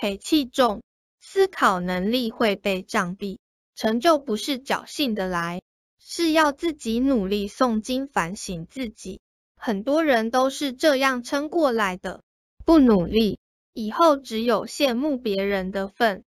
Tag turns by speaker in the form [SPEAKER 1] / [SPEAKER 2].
[SPEAKER 1] 赔气重，思考能力会被障蔽，成就不是侥幸的来，是要自己努力诵经反省自己。很多人都是这样撑过来的，不努力，以后只有羡慕别人的份。